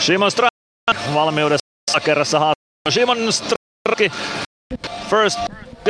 Shimon Straki valmiudessa kerrassa haastattelua. Shimon Straki first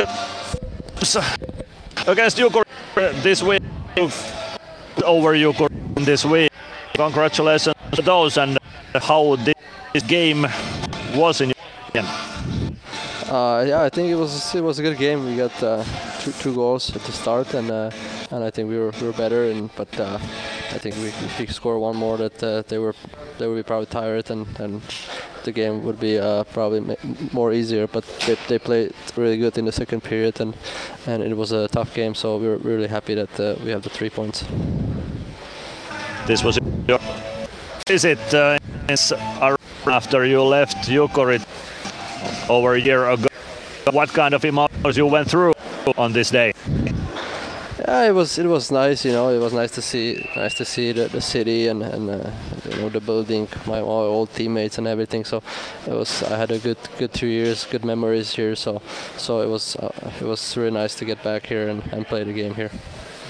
against Jukuri this week, over Jukuri this week. Congratulations to those, and how this game was in your opinion? Yeah, I think it was a good game. We got two goals at the start, and I think we were better. But I think if we could score one more, that they would be probably tired, and the game would be probably more easier. But they played really good in the second period, and it was a tough game. So we were really happy that we have the 3 points. This was your visit after you left Jukuri over a year ago. What kind of emotions you went through on this day? Yeah, it was nice. You know, it was nice to see the city and the building, my old teammates and everything. So I had a good 2 years, good memories here. So it was really nice to get back here and play the game here.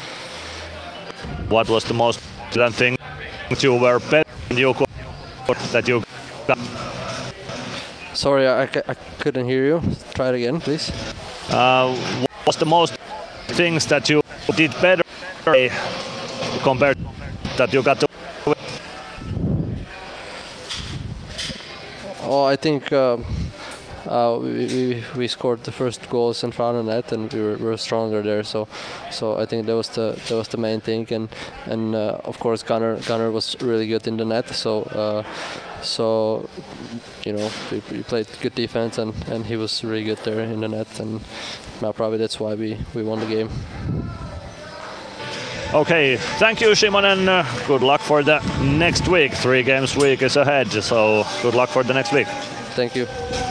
What was the most important thing that you were better than you that you got? Sorry, I couldn't hear you. Try it again, please. What was the most things that you did better compared to that you got to? Oh, I think we scored the first goals in front of the net, and we were stronger there. So I think that was the main thing, and of course Gunnar was really good in the net. So you know, we played good defense, and he was really good there in the net, and probably that's why we won the game. Okay, thank you, Shimon, and good luck for the next week. 3 games week is ahead, so good luck for the next week. Thank you.